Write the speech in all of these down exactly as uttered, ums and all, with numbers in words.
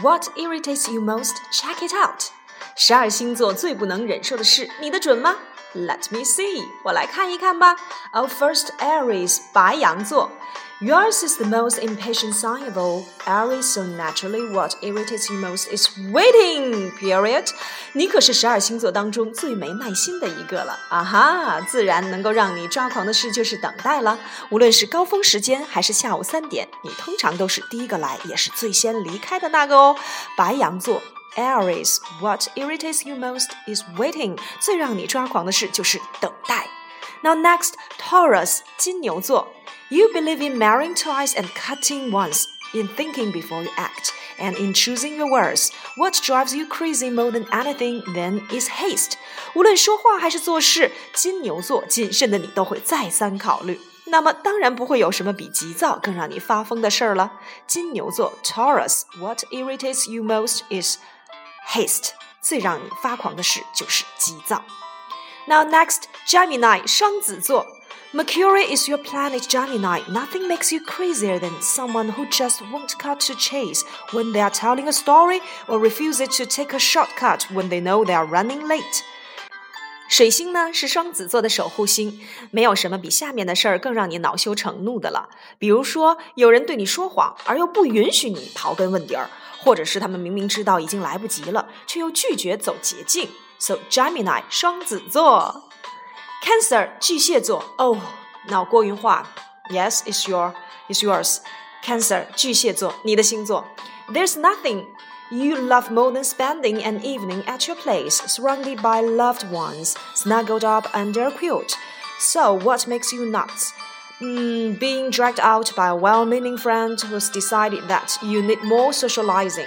What irritates you most? Check it out. 十二星座最不能忍受的事，你的准吗？ Let me see. 我来看一看吧。Oh, first, Aries, 白羊座。Yours is the most impatient sign of all. Aries, so naturally, what irritates you most is waiting, period. 你可是十二星座当中最没耐心的一个了。啊哈，自然能够让你抓狂的事就是等待了。无论是高峰时间还是下午三点，你通常都是第一个来，也是最先离开的那个哦。白羊座。Aries, what irritates you most is waiting. 最让你抓狂的事就是等待。Now next, Taurus, 金牛座。You believe in marrying twice and cutting once, in thinking before you act, and in choosing your words. What drives you crazy more than anything then is haste. 无论说话还是做事，金牛座谨慎的你都会再三考虑。那么当然不会有什么比急躁更让你发疯的事儿了。金牛座 Taurus, what irritates you most is haste. 最让你发狂的事就是急躁。Now next, Gemini, 双子座。Mercury is your planet, Gemini. Nothing makes you crazier than someone who just won't cut to chase when they are telling a story or refuses to take a shortcut when they know they are running late. 水星呢是双子座的守护星，没有什么比下面的事儿更让你恼羞成怒的了。比如说，有人对你说谎，而又不允许你刨根问底儿，或者是他们明明知道已经来不及了，却又拒绝走捷径。So Gemini, 双子座。Cancer, 巨蟹座。哦，脑过云话。Yes, it's your, it's yours. Cancer, 巨蟹座，你的星座。There's nothing you love more than spending an evening at your place, surrounded by loved ones, snuggled up under a quilt. So what makes you nuts? Mm, being dragged out by a well-meaning friend who's decided that you need more socializing.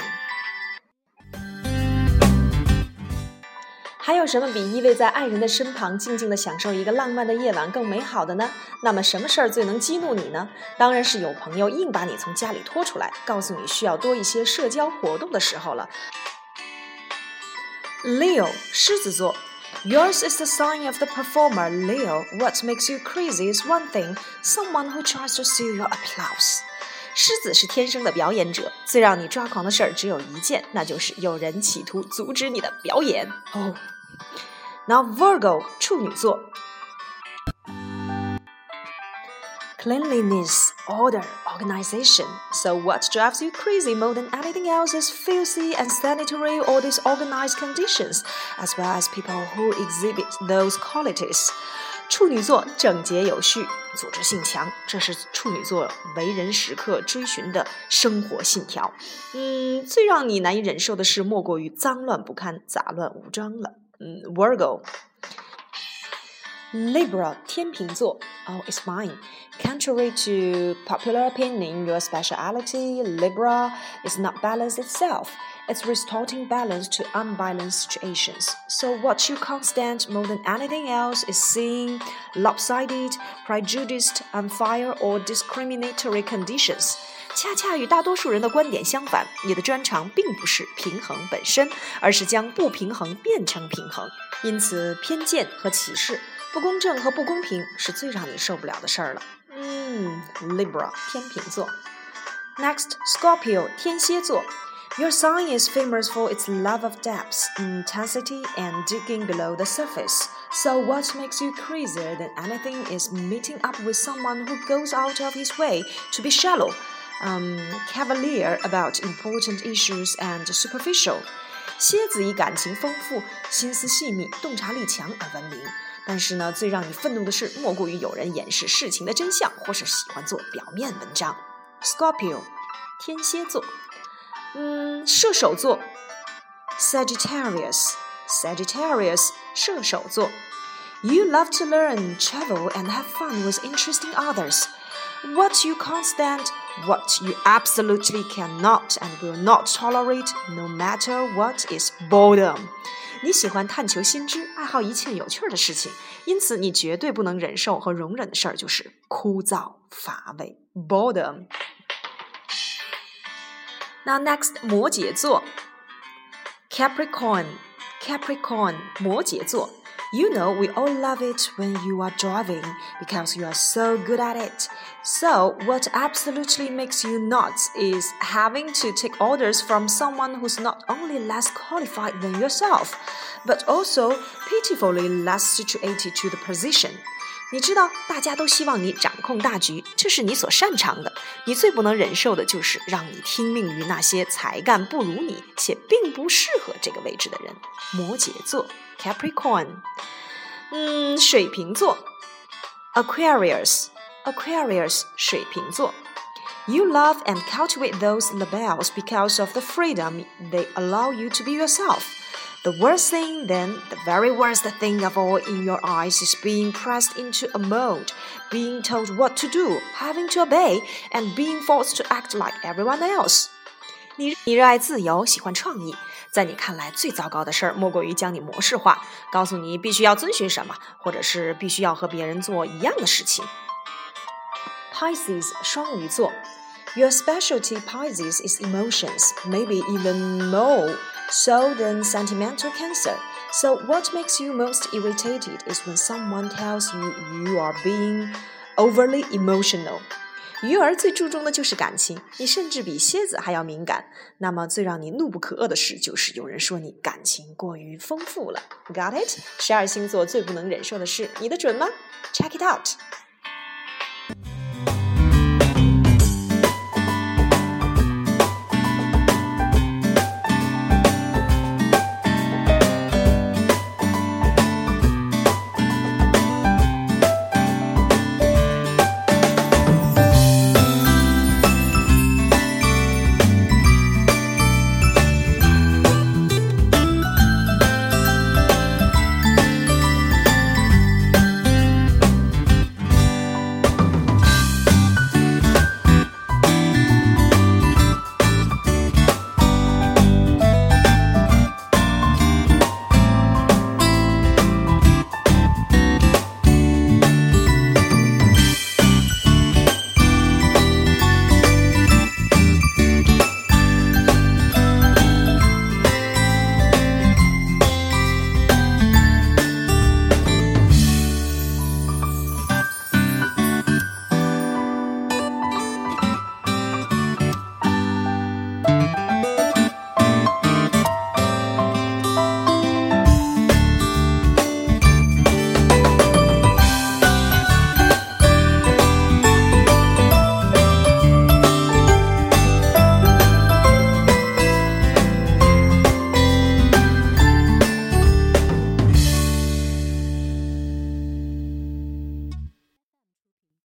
还有什么比依偎在爱人的身旁静静地享受一个浪漫的夜晚更美好的呢？那么什么事儿最能激怒你呢？当然是有朋友硬把你从家里拖出来，告诉你需要多一些社交活动的时候了。Leo, 狮子座。Yours is the sign of the performer, Leo. What makes you crazy is one thing, someone who tries to steal your applause.狮子是天生的表演者，最让你抓狂的事儿只有一件，那就是有人企图阻止你的表演。哦、oh. Now Virgo, 处女座。Cleanliness, order, organization. So what drives you crazy more than anything else is filthy, unsanitary, or disorganized conditions, as well as people who exhibit those qualities.处女座整洁有序，组织性强，这是处女座为人时刻追寻的生活信条。嗯，最让你难以忍受的事莫过于脏乱不堪、杂乱无章了。嗯 ，Virgo。Libra, 天秤座。Oh, it's mine. Contrary to popular opinion, your speciality, Libra, is not balance itself. It's restoring balance to unbalanced situations. So what you can't stand more than anything else is seeing lopsided, prejudiced, unfair, or discriminatory conditions. 恰恰与大多数人的观点相反，你的专长并不是平衡本身，而是将不平衡变成平衡。因此，偏见和歧视、不公正和不公平是最让你受不了的事儿了。嗯 ，Libra, 天秤座。Next, Scorpio, 天蝎座。Your sign is famous for its love of depth, intensity, and digging below the surface. So what makes you crazier than anything is meeting up with someone who goes out of his way to be shallow, um, cavalier about important issues and superficial. 蝎子以感情丰富、心思细密、洞察力强而闻名。但是呢，最让你愤怒的是，莫过于有人掩饰事情的真相，或是喜欢做表面文章。Scorpio, 天蝎座。嗯，射手座 Sagittarius, Sagittarius, 射手座。You love to learn, travel, and have fun with interesting others. What you can't stand, what you absolutely cannot and will not tolerate, no matter what, is boredom. 你喜欢探求新知，爱好一切有趣的事情，因此你绝对不能忍受和容忍的事儿就是枯燥乏味 boredom。那 next 摩羯座 Capricorn Capricorn 摩羯座 You know we all love it when you are driving because you are so good at it. So what absolutely makes you nuts is having to take orders from someone who's not only less qualified than yourself, but also pitifully less situated to the position.你知道大家都希望你掌控大局，这是你所擅长的，你最不能忍受的就是让你听命于那些才干不如你且并不适合这个位置的人。摩羯座 Capricorn 嗯，水瓶座 Aquarius Aquarius 水瓶座 You love and cultivate those labels because of the freedom they allow you to be yourself.The worst thing, then, the very worst thing of all in your eyes is being pressed into a mold, being told what to do, having to obey, and being forced to act like everyone else. 你, 你热爱自由，喜欢创意，在你看来最糟糕的事儿莫过于将你模式化，告诉你必须要遵循什么，或者是必须要和别人做一样的事情。Pisces 双鱼座 Your specialty, Pisces, is emotions, maybe even more.So than sentimental cancer. So what makes you most irritated is when someone tells you you are being overly emotional. 鱼儿最注重的就是感情，你甚至比蝎子还要敏感。那么最让你怒不可遏的事，就是有人说你感情过于丰富了。Got it? 十二星座最不能忍受的事，你的准吗？ Check it out!